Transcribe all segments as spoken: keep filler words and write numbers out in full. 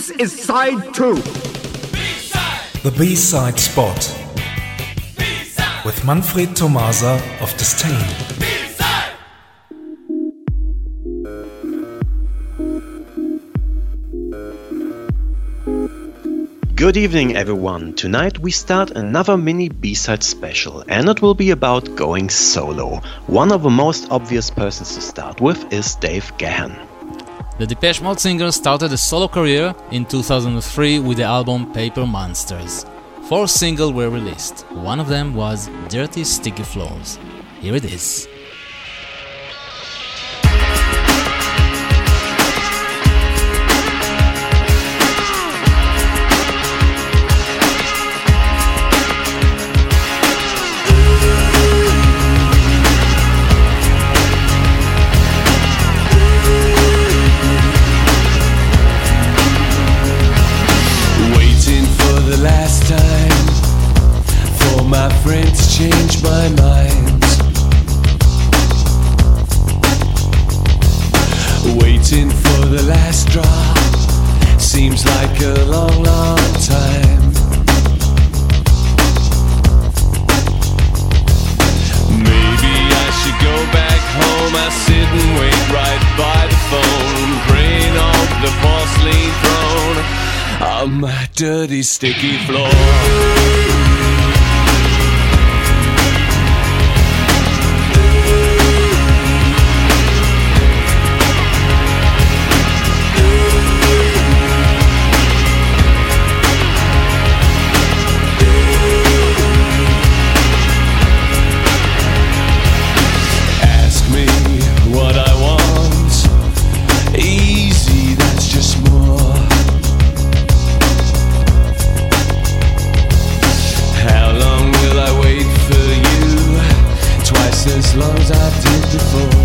This is side two. B-side. The B-side spot. B-side. With Manfred Tomasa of Disdain. B-side. Good evening, everyone. Tonight we start another mini B-side special, and it will be about going solo. One of the most obvious persons to start with is Dave Gahan. The Depeche Mode singer started a solo career in two thousand three with the album Paper Monsters. Four singles were released. One of them was Dirty Sticky Floors. Here it is. My friends change my mind. Waiting for the last drop seems like a long, long time. Maybe I should go back home. I sit and wait right by the phone, praying on the porcelain throne on my dirty, sticky floor. As long as I did before.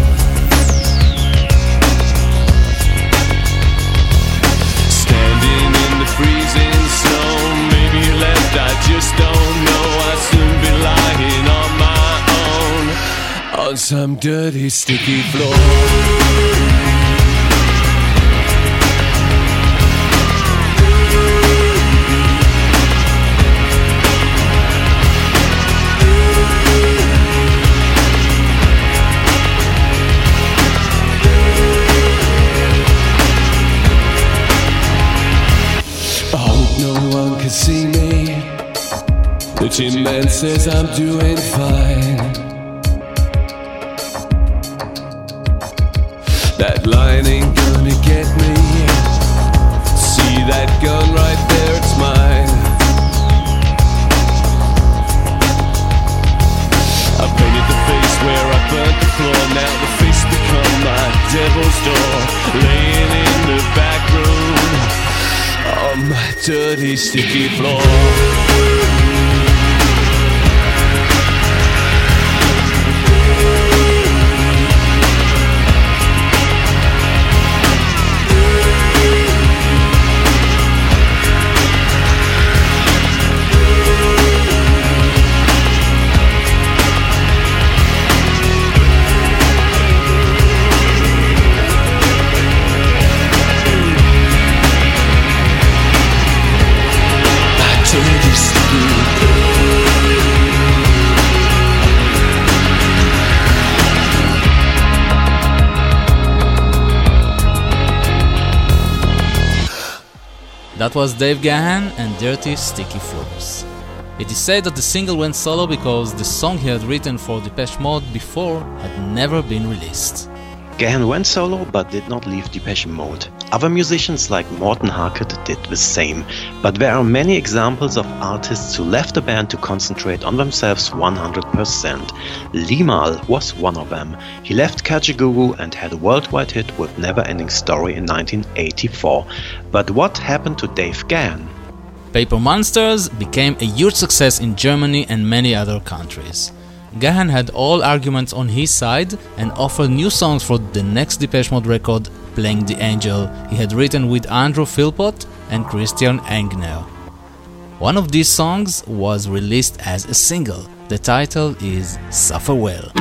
Standing in the freezing snow, maybe you left, I just don't know. I'll soon be lying on my own on some dirty, sticky floor. See me, the Tin Man says I'm doing fine. That line ain't gonna get me. See that gun right there, it's mine. I painted the face where I burnt the floor. Now the face become my devil's door. Laying in the back room on my dirty, sticky floor. That was Dave Gahan and Dirty Sticky Floors. It is said that the single went solo because the song he had written for Depeche Mode before had never been released. Gahan went solo but did not leave Depeche Mode. Other musicians like Morten Harket did the same, but there are many examples of artists who left the band to concentrate on themselves one hundred percent. Limahl was one of them. He left Kajagoogoo and had a worldwide hit with Never Ending Story in nineteen eighty-four. But what happened to Dave Gahan? Paper Monsters became a huge success in Germany and many other countries. Gahan had all arguments on his side and offered new songs for the next Depeche Mode record, Playing the Angel, he had written with Andrew Philpott and Christian Engner. One of these songs was released as a single. The title is Suffer Well.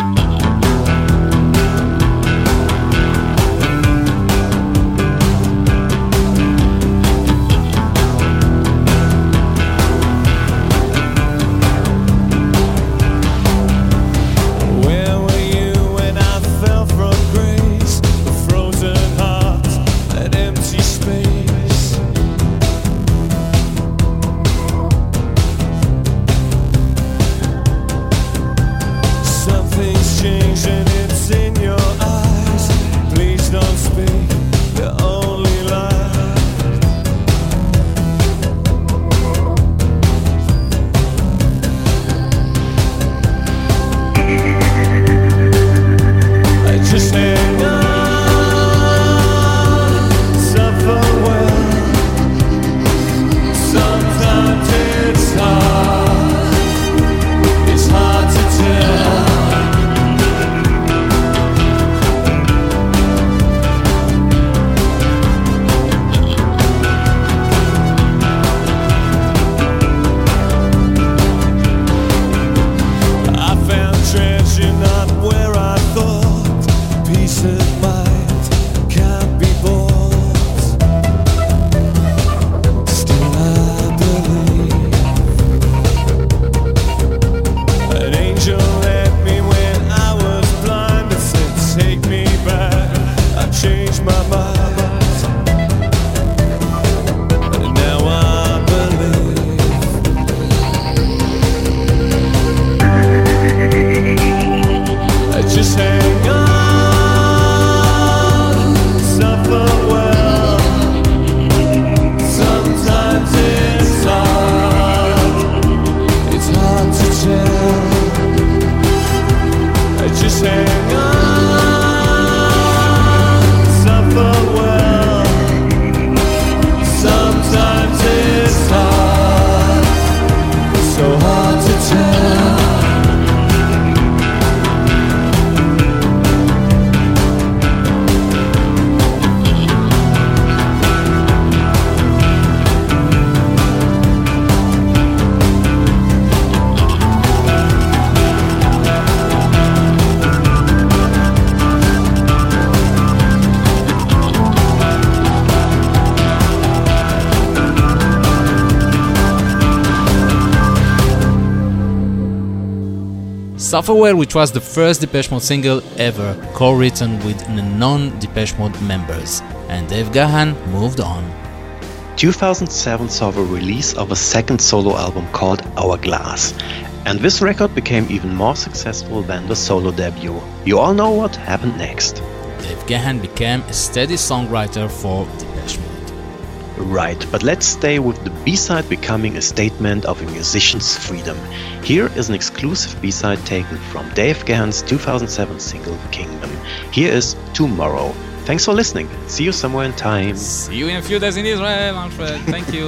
Sufferwell, which was the first Depeche Mode single ever co-written with non-Depeche Mode members. And Dave Gahan moved on. two thousand seven saw the release of a second solo album called Hourglass. And this record became even more successful than the solo debut. You all know what happened next. Dave Gahan became a steady songwriter for Depeche Mode. Right, but let's stay with the B-side becoming a statement of a musician's freedom. Here is an exclusive B-side taken from Dave Gahan's two thousand seven single Kingdom. Here is Tomorrow. Thanks for listening. See you somewhere in time. See you in a few days in Israel, Manfred. Thank you.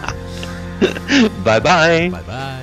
Bye-bye. Bye-bye.